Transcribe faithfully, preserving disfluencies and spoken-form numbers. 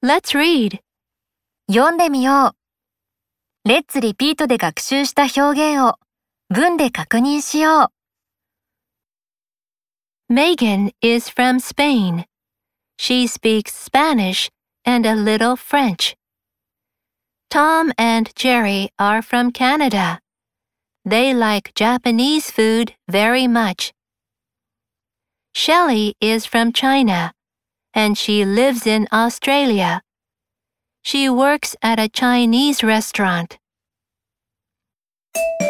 Let's read. 読んでみよう。Let's repeat で学習した表現を文で確認しよう。Megan is from Spain. She speaks Spanish and a little French. Tom and Jerry are from Canada. They like Japanese food very much. Shelley is from China, and she lives in Australia. She works at a Chinese restaurant.